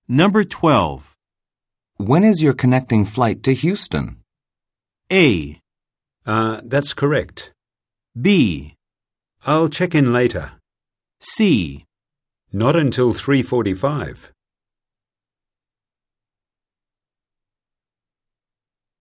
Number 12. When is your connecting flight to Houston? A. That's correct. B. I'll check in later. C. Not until 3:45.